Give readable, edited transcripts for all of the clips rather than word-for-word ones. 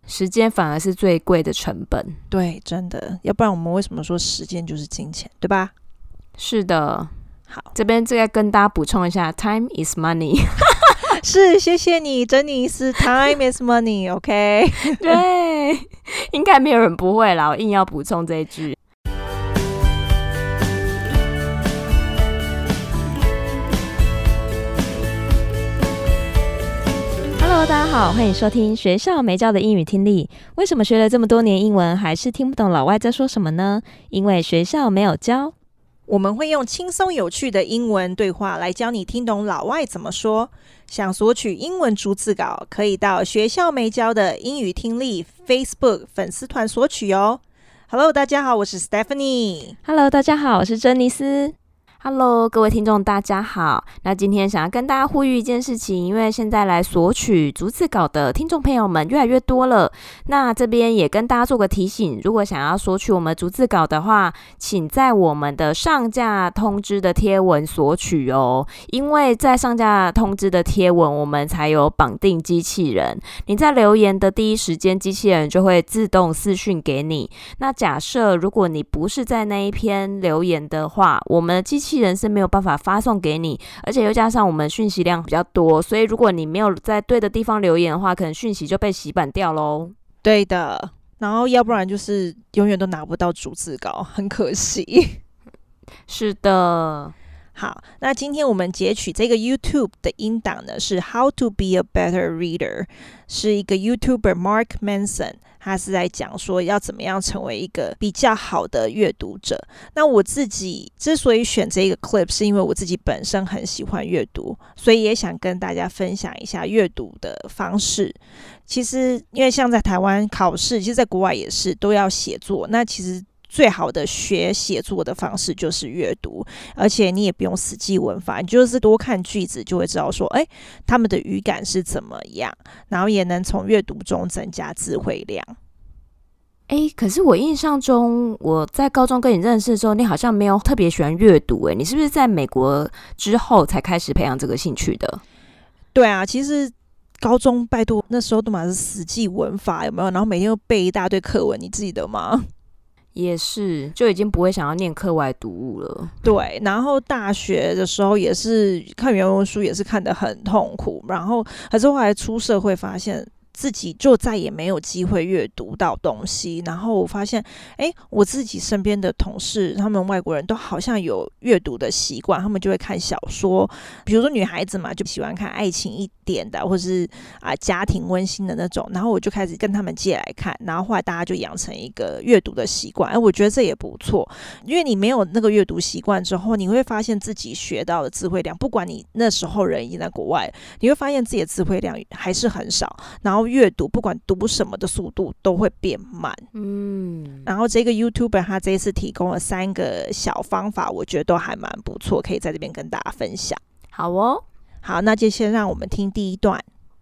時間反而是最貴的成本。 對，真的，要不然我們為什麼說時間就是金錢，对吧？ 是的。 好， 這邊再跟大家補充一下 ，time is money 。 是，謝謝你，珍妮斯 ，time is money，OK？ 对，應該沒有人不會啦，我硬要補充這一句。Hello， 大家好，歡迎收聽學校沒教的英語聽力。為什麼學了這麼多年英文，還是聽不懂老外在說什麼呢？因為學校沒有教。 我們會用輕鬆有趣的英文對話來教你聽懂老外怎麼說。想索取英文逐字稿，可以到學校沒教的英語聽力 Facebook 粉絲團索取哦。Hello， 大家好，我是 Stephanie。Hello， 大家好，我是珍妮斯。Hello， 各位聽眾，大家好。那今天想要跟大家呼籲一件事情，因為現在來索取逐字稿的聽眾朋友們越來越多了。那這邊也跟大家做個提醒，如果想要索取我們逐字稿的話，請在我們的上架通知的貼文索取哦。因為在上架通知的貼文，我們才有綁定機器人。你在留言的第一時間，機器人就會自動私訊給你。那假設如果你不是在那一篇留言的話，我們的機器人是沒有辦法發送給你，而且又加上我們訊息量比較多，所以如果你沒有在對的地方留言的話，可能訊息就被洗版掉咯。 對的，然後要不然就是永遠都拿不到逐字稿，很可惜。 是的。 好，那今天我們截取這個 YouTube 的音檔呢，是 How to be a better reader， 是一個 YouTuber Mark Manson， 他是在講說要怎麼樣成為一個比較好的閱讀者。那我自己之所以選這個 clip， 是因為我自己本身很喜歡閱讀，所以也想跟大家分享一下閱讀的方式。其實因為像在台灣考試，其實在國外也是都要寫作，那其實最好的學寫作的方式就是閱讀，而且你也不用死記文法，你就是多看句子就會知道說，他們的語感是怎麼樣，然後也能從閱讀中增加詞彙量。 可是我印象中，我在高中跟你認識的時候，你好像沒有特別喜歡閱讀，你是不是在美國之後才開始培養這個興趣的？ 對啊，其實高中拜託那時候都嘛是死記文法，有沒有？然後每天都背一大堆課文，你記得嗎？ 也是，就已經不會想要念課外讀物了。 對，然後大學的時候也是看原文書，也是看得很痛苦。然後可是後來出社會發現自己就再也沒有機會閱讀到東西，然後我發現我自己身邊的同事，他們外國人都好像有閱讀的習慣，他們就會看小說，比如說女孩子嘛，就喜歡看愛情一點的，或是家庭溫馨的那種，然後我就開始跟他們借來看，然後後來大家就養成一個閱讀的習慣。我覺得這也不錯，因為你沒有那個閱讀習慣之後，你會發現自己學到的詞彙量，不管你那時候人已經在國外，你會發現自己的詞彙量還是很少，然後閱讀不管讀什麼的速度都會變慢。然後這個 YouTuber 他這一次提供了3個小方法，我覺得都還蠻不錯，可以在這邊跟大家分享。 好哦， 好，那就先讓我們聽第一段。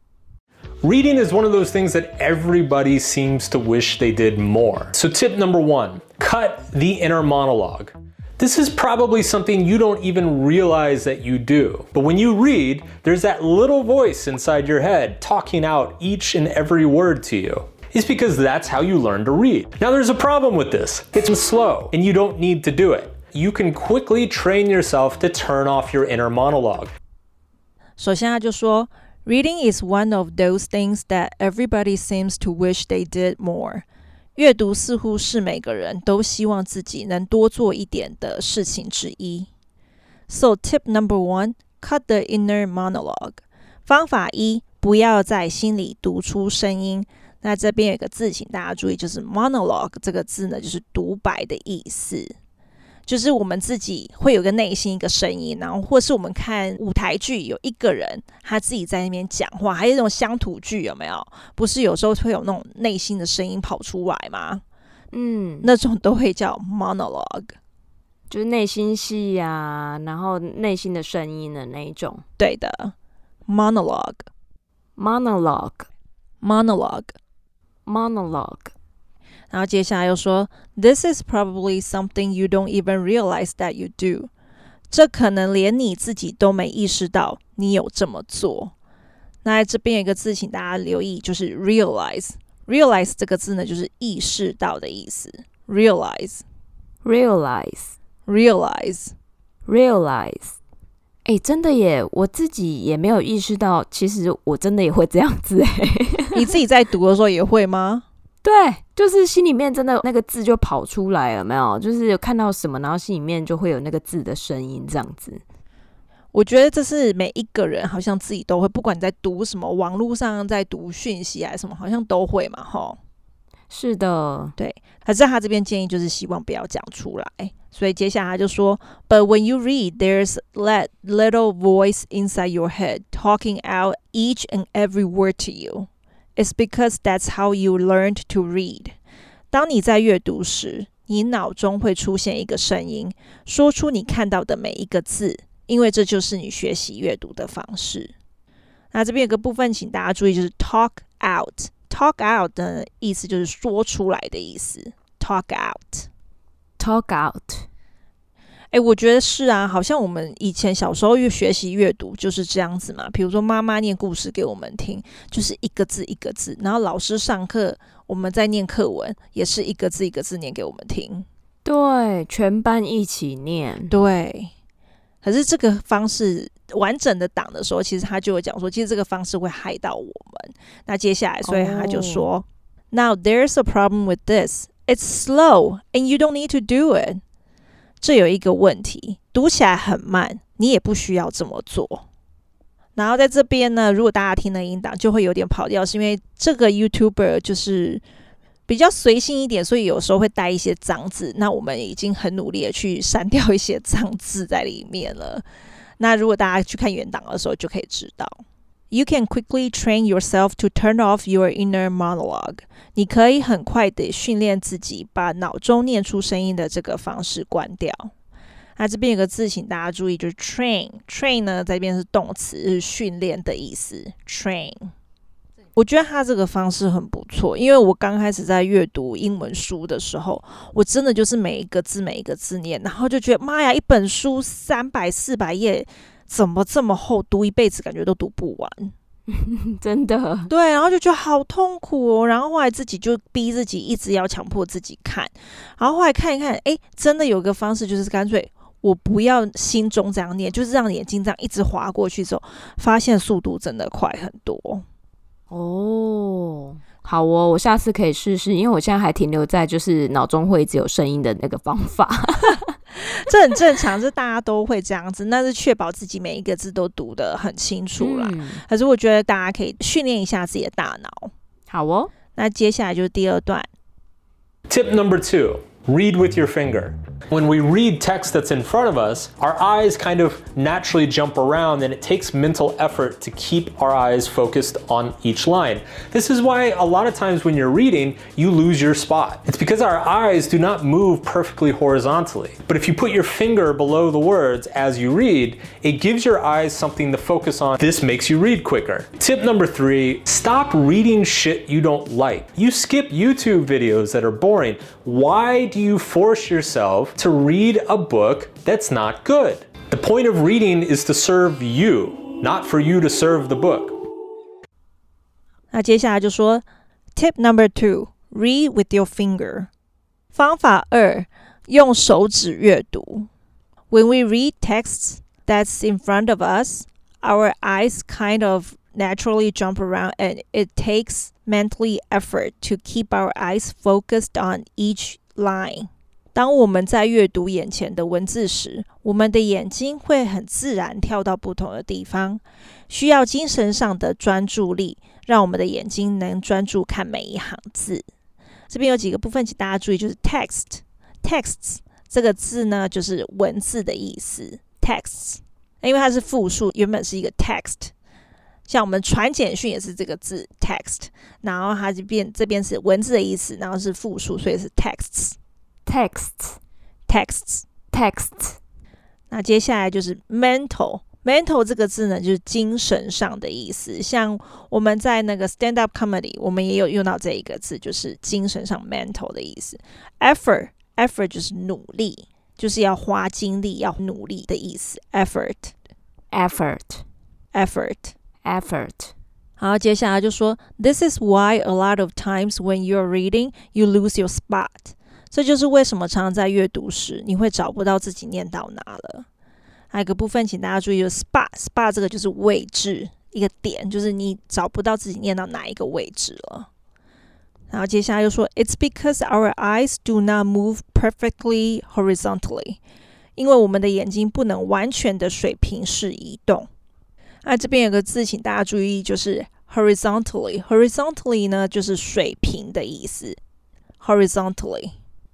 Reading is one of those things that everybody seems to wish they did more. So tip number 1, cut the inner monologue. This is probably something you don't even realize that you do. But when you read, there's that little voice inside your head talking out each and every word to you. It's because that's how you learn to read. Now there's a problem with this. It's slow, and you don't need to do it. You can quickly train yourself to turn off your inner monologue. 首先他就說 Reading is one of those things that everybody seems to wish they did more. 閱讀似乎是每個人都希望自己能多做一點的事情之一。So tip number 1, cut the inner monologue. 方法1，不要在心裡讀出聲音。那這邊有一個字請大家注意，就是 monologue 這個字呢，就是獨白的意思。就是我們自己會有個內心一個聲音，然後或是我們看舞台劇，有一個人他自己在那邊講話，還有那種鄉土劇有沒有？不是有時候會有那種內心的聲音跑出來嗎？那種都會叫 monologue， 就是內心戲啊，然後內心的聲音的那一種。 對的 monologue。然後接下來又說 This is probably something you don't even realize that you do. 這可能連你自己都沒意識到你有這麼做。那這邊有一個字請大家留意，就是 realize。 realize 這個字呢，就是意識到的意思。realize。 真的耶，我自己也沒有意識到，其實我真的也會這樣子耶。 你自己在讀的時候也會嗎？ 對，就是心裡面真的那個字就跑出來了，有沒有？就是有看到什麼，然後心裡面就會有那個字的聲音，這樣子。 我覺得這是每一個人好像自己都會，不管你在讀什麼，網絡上在讀訊息啊什麼，好像都會嘛，齁。 是的， 對。可是他這邊建議就是希望不要講出來，所以接下來他就說 ，But when you read, there's that little voice inside your head talking out each and every word to you. It's because that's how you learned to read. 當你在閱讀時，你腦中會出現一個聲音，說出你看到的每一個字，因為這就是你學習閱讀的方式。那這邊有個部分，請大家注意，就是 talk out。talk out 的意思就是說出來的意思。talk out。我覺得是啊，好像我們以前小時候學習閱讀就是這樣子嘛。比如說媽媽念故事給我們聽，就是一個字一個字，然後老師上課我們在念課文，也是一個字一個字念給我們聽。 對，全班一起念。 對，可是這個方式完整的檔的時候，其實他就會講說，其實這個方式會害到我們。那接下來，所以他就說，Now there's a problem with this. It's slow, and you don't need to do it. 這有一個問題，讀起來很慢，你也不需要這麼做。然後在這邊呢，如果大家聽了音檔，就會有點跑調，是因為這個 YouTuber 就是比較隨性一點，所以有時候會帶一些髒字。那我們已經很努力的去刪掉一些髒字在裡面了。那如果大家去看原檔的時候，就可以知道。You can quickly train yourself to turn off your inner monologue. 你可以很快的訓練自己，把腦中念出聲音的這個方式關掉。那這邊有個字，請大家注意，就是 train。train 呢，在這邊是動詞，是訓練的意思。train。我覺得他這個方式很不錯，因為我剛開始在閱讀英文書的時候，我真的就是每一個字每一個字念，然後就覺得媽呀，一本書300、400頁。怎麼這麼厚，讀一輩子感覺都讀不完。 真的。對， 然後就覺得好痛苦哦。然後後來自己就逼自己一直要強迫自己看，然後後来看一看，真的有個方式，就是乾脆我不要心中這樣念，就是讓眼睛這樣一直滑過去之後，發現速度真的快很多。 哦，好哦，我下次可以試試，因為我現在還停留在就是腦中會一直有聲音的那個方法。 這很正常，這大家都會這樣子，那是確保自己每一個字都讀得很清楚啦。可是我覺得大家可以訓練一下自己的大腦。 好哦， 那接下來就是第二段。 Tip number 2, read with your finger. When we read text that's in front of us, our eyes kind of naturally jump around and it takes mental effort to keep our eyes focused on each line. This is why a lot of times when you're reading, you lose your spot. It's because our eyes do not move perfectly horizontally. But if you put your finger below the words as you read, it gives your eyes something to focus on. This makes you read quicker. Tip number 3, stop reading shit you don't like. You skip YouTube videos that are boring. Why do you force yourself to read a book that's not good? The point of reading is to serve you, not for you to serve the book. 那接下來就說 Tip number 2, read with your finger. 方法2，用手指閱讀。When we read texts that's in front of us, our eyes kind of naturally jump around and it takes mentally effort to keep our eyes focused on each line. 當我們在閱讀眼前的文字時，我們的眼睛會很自然跳到不同的地方，需要精神上的專注力，讓我們的眼睛能專注看每一行字。這邊有幾個部分請大家注意，就是 texts 這個字呢，就是文字的意思。texts 因為它是複數，原本是一個 text， 像我們傳簡訊也是這個字 text， 然後它這邊是文字的意思，然後是複數，所以是 texts。那接下來就是 mental 這個字呢，就是精神上的意思。像我們在那個 stand up comedy， 我們也有用到這一個字，就是精神上 mental 的意思。effort 就是努力，就是要花精力，要努力的意思。effort。 好，接下來就說 This is why a lot of times when you're reading, you lose your spot. 這就是為什麼常常在閱讀時，你會找不到自己念到哪了。還有一個部分，請大家注意，就是 spot 這個就是位置，一個點，就是你找不到自己念到哪一個位置了。然後接下來又說 It's because our eyes do not move perfectly horizontally. 因為我們的眼睛不能完全的水平式移動。那這邊有個字請大家注意，就是 horizontally 呢就是水平的意思。horizontally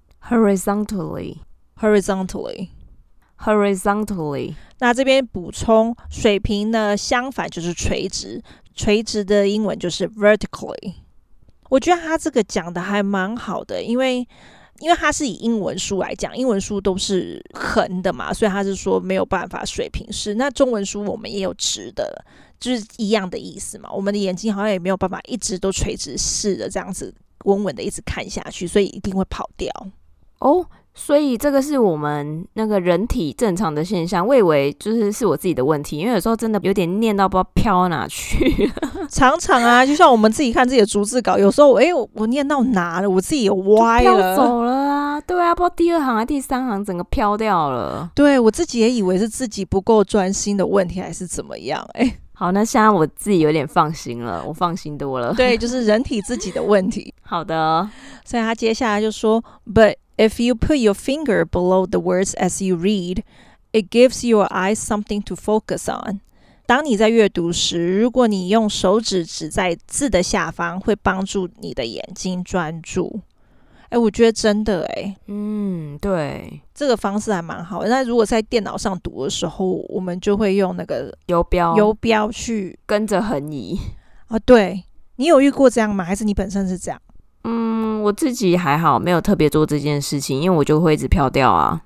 那這邊補充水平呢相反就是垂直，垂直的英文就是 vertically。 我覺得他這個講的還蠻好的，因為它是以英文書來講，英文書都是橫的嘛，所以他是說沒有辦法水平式。那中文書我們也有直的，就是一樣的意思嘛。我們的眼睛好像也没有辦法一直都垂直式的這樣子穩穩的一直看下去，所以一定會跑掉。 哦，所以這個是我們那個人體正常的現象。我以為是我自己的問題，因為有時候真的有點念到不知道飄到哪去。 常常啊，就像我們自己看自己的逐字稿，有時候我念到哪了，我自己有歪了， 飄走了啊。對啊，不知道第2行還是第3行整個飄掉了。 對，我自己也以為是自己不夠專心的問題還是怎麼樣。 好，那現在我自己有點放心了，我放心多了。 對，就是人體自己的問題。 好的， 所以他接下來就說 But if you put your finger below the words as you read, it gives your eyes something to focus on. 當你在閱讀時，如果你用手指指在字的下方，會幫助你的眼睛專注。我覺得真的對， 這個方式還蠻好的。那如果在電腦上讀的時候，我們就會用那個游標去跟着橫移。 對，你有遇過這樣嗎？還是你本身是這樣？ 我自己還好，沒有特別做這件事情，因為我就會一直飄掉啊。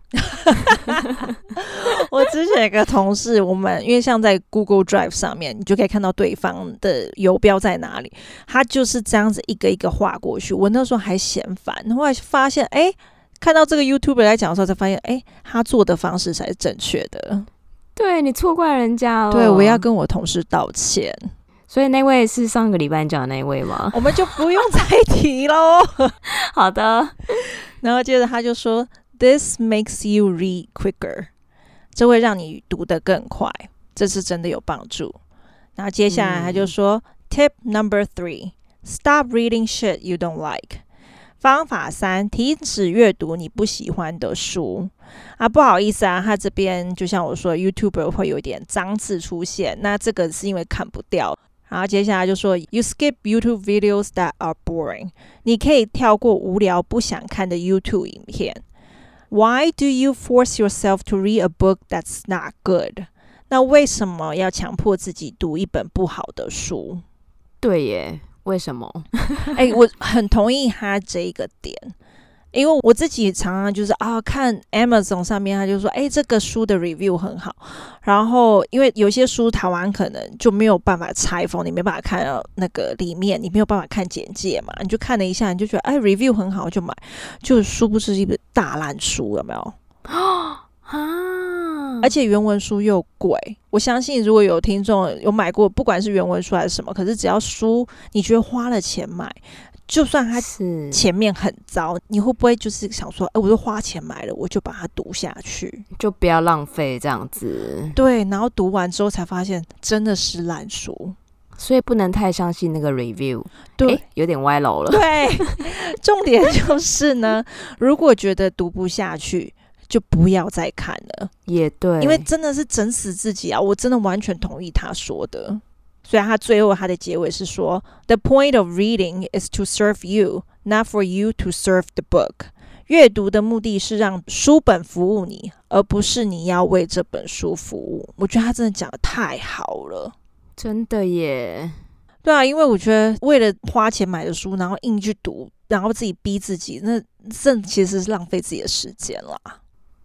我之前有個同事，我們因為像在 Google Drive 上面，你就可以看到對方的游標在哪裡，他就是這樣子一個一個畫過去。我那時候還嫌煩，後來發現看到這個 YouTuber 來講的時候，才發現他做的方式才是正確的。 對，你錯怪人家了。 對，我要跟我同事道歉。 所以那位是上個禮拜講的那位嗎？ 我們就不用再提咯。 好的。 然後接着他就說 This makes you read quicker. 這會讓你讀得更快，這是真的有幫助。然後接下來他就說Tip number 3. Stop reading shit you don't like. 方法3，停止閱讀你不喜歡的書。不好意思啊，他這邊就像我說 YouTuber 會有點髒字出現，那這個是因為砍不掉。然後接下來就說 You skip YouTube videos that are boring. 你可以跳過無聊不想看的 YouTube 影片。Why do you force yourself to read a book that's not good? 那為什麼要強迫自己讀一本不好的書？ 對耶，為什麼？ 我很同意他這個點。因為我自己常常就是看 Amazon 上面他就說這個書的 review 很好，然後因為有些書台灣可能就沒有辦法拆封，你沒辦法看到那個裡面，你沒有辦法看簡介嘛，你就看了一下，你就覺得review 很好就買，就殊不知一本大爛書，有沒有？而且原文書又貴，我相信如果有聽眾有買過，不管是原文書還是什麼，可是只要書你覺得花了錢買，就算它前面很糟，你會不會就是想說我都花錢買了，我就把它讀下去， 就不要浪費這樣子。 對，然後讀完之後才發現真的是爛書， 所以不能太相信那個 review。對，有點歪樓了。 對，重點就是呢，如果覺得讀不下去，就不要再看了。 也对， 因为真的是整死自己啊！我真的完全同意他說的。所以他最後他的結尾是說 The point of reading is to serve you, not for you to serve the book. 閱讀的目的是讓書本服務你，而不是你要為這本書服務。我覺得他真的講得太好了。 真的耶。 對啊，因為我覺得為了花錢買的書，然後硬去讀，然後自己逼自己，那這其實是浪費自己的時間啦。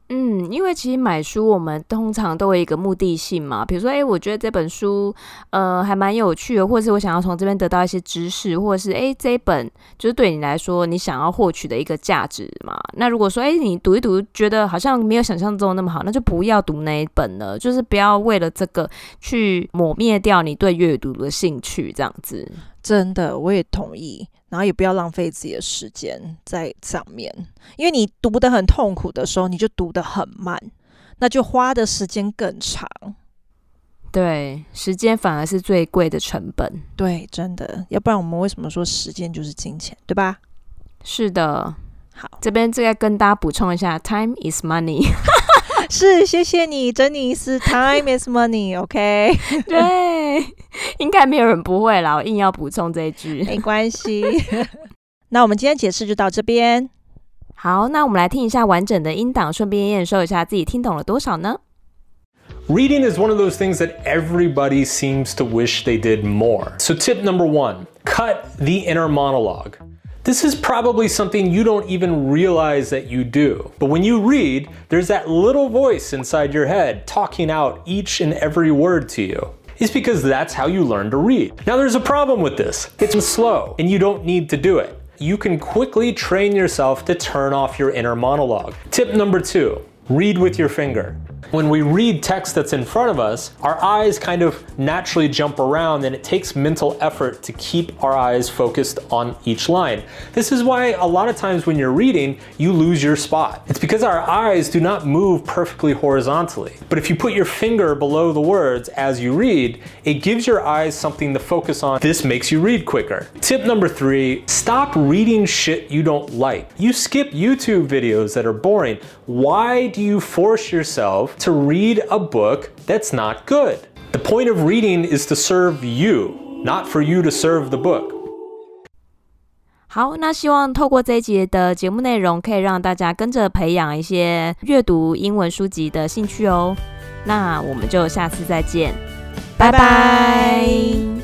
因為其實買書我們通常都有一個目的性嘛，比如說我覺得這本書還蠻有趣的，或者是我想要從這邊得到一些知識，或者是這一本就是對你來說你想要獲取的一個價值嘛。那如果說你讀一讀覺得好像沒有想象中那麼好，那就不要讀那一本了，就是不要為了这個去抹滅掉你對閱讀的興趣，這樣子。 真的，我也同意。然後也不要浪費自己的時間在上面，因為你讀得很痛苦的時候，你就讀得很慢，那就花的時間更長。 对，時間反而是最貴的成本。 對，真的，要不然我們為什麼說時間就是金錢，對吧？ 是的。 好， 這邊再跟大家補充一下 ，time is money 。 是，謝謝你，珍妮斯 ，time is money，OK？ 對，應該沒有人不會啦，我硬要補充這一句， 沒關係。那我們今天解釋就到這邊。 好，那我們來聽一下完整的音檔，順便驗收一下自己聽懂了多少呢？ Reading is one of those things that everybody seems to wish they did more. So tip number 1, cut the inner monologue. This is probably something you don't even realize that you do. But when you read, there's that little voice inside your head talking out each and every word to you. It's because that's how you learn to read. Now there's a problem with this. It's slow and you don't need to do it. You can quickly train yourself to turn off your inner monologue. Tip number 2, read with your finger. When we read text that's in front of us, our eyes kind of naturally jump around and it takes mental effort to keep our eyes focused on each line. This is why a lot of times when you're reading, you lose your spot. It's because our eyes do not move perfectly horizontally. But if you put your finger below the words as you read, it gives your eyes something to focus on. This makes you read quicker. Tip number 3, stop reading shit you don't like. You skip YouTube videos that are boring. Why do you force yourself to read a book that's not good? The point of reading is to serve you, not for you to serve the book. 好，那希望透過這一集的節目內容，可以讓大家跟着培養一些閱讀英文書籍的興趣哦。那我們就下次再見，拜拜。